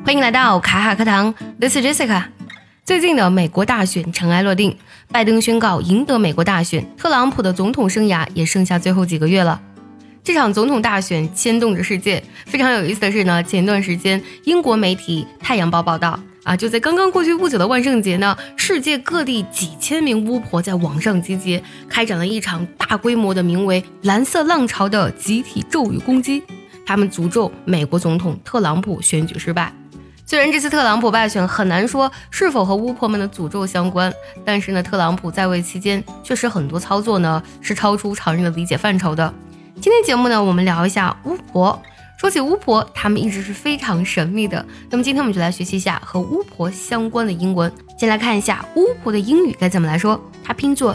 欢迎来到卡卡课堂 This is Jessica。 最近的美国大选尘埃落定，拜登宣告赢得美国大选，特朗普的总统生涯也剩下最后几个月了。这场总统大选牵动着世界。非常有意思的是呢，前段时间英国媒体太阳报报道就在刚刚过去不久的万圣节呢，世界各地几千名巫婆在网上集结，开展了一场大规模的名为蓝色浪潮的集体咒语攻击。他们诅咒美国总统特朗普选举失败。虽然这次特朗普败选很难说是否和巫婆们的诅咒相关，但是呢，特朗普在位期间确实很多操作呢是超出常人的理解范畴的。今天节目呢，我们聊一下巫婆。说起巫婆，他们一直是非常神秘的。那么今天我们就来学习一下和巫婆相关的英文。先来看一下巫婆的英语该怎么来说，它拼作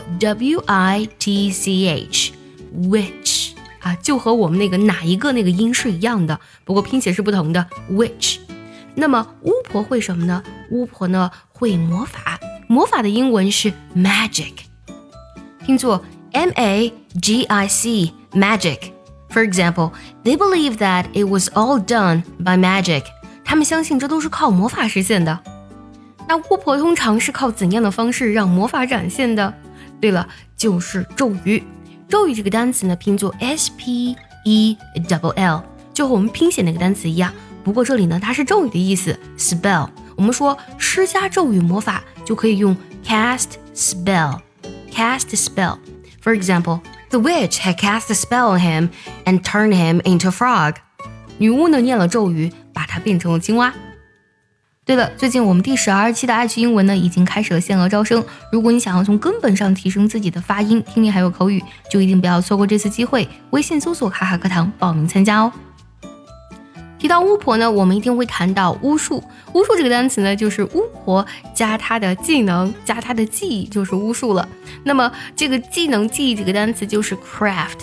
W-I-T-C-H witch 就和我们那个哪一个那个音是一样的，不过拼写是不同的 witch。 那么巫婆会什么呢？巫婆呢会魔法，魔法的英文是 magic， 拼作 M-A-G-I-C magic。For example, they believe that it was all done by magic. 他们相信这都是靠魔法实现的。那巫婆通常是靠怎样的方式让魔法展现的？对了，就是咒语。咒语这个单词呢，拼作 S-P-E-L-L， 就和我们拼写那个单词一样。不过这里呢，它是咒语的意思 spell。我们说施加咒语魔法就可以用 cast spell。cast spell。For example,The witch had cast a spell on him and turned him into a frog. 女巫呢念了咒语，把他变成了青蛙。对了，最近我们第12期的爱趣英文呢已经开始了限额招生。如果你想要从根本上提升自己的发音、听力还有口语，就一定不要错过这次机会。微信搜索卡卡课堂报名参加哦。提到巫婆呢，我们一定会谈到巫术。巫术这个单词呢，就是巫婆加她的技能加她的技艺，就是巫术了。那么这个技能技艺这个单词就是 craft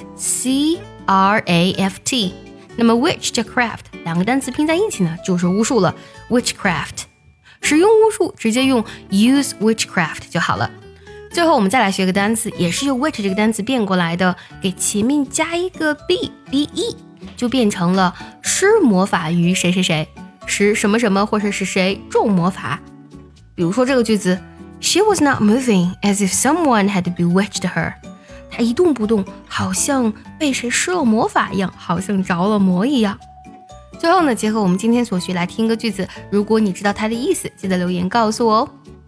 C-R-A-F-T。 那么 witch 加 craft 两个单词拼在一起呢，就是巫术了 witchcraft。 使用巫术直接用 use witchcraft 就好了。最后我们再来学个单词，也是由 witch 这个单词变过来的，给前面加一个 B-E，就变成了施魔法于谁谁谁，使什么什么或者是谁中魔法。比如说这个句子 She was not moving as if someone had bewitched her。 她一动不动，好像被谁施了魔法一样，好像着了魔一样。最后呢，结合我们今天所学来听个句子，如果你知道它的意思，记得留言告诉我哦。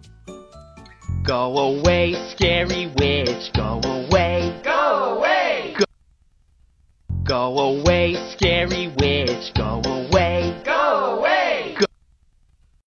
Go away, scary witch, go away, go away, go away, scary witch, go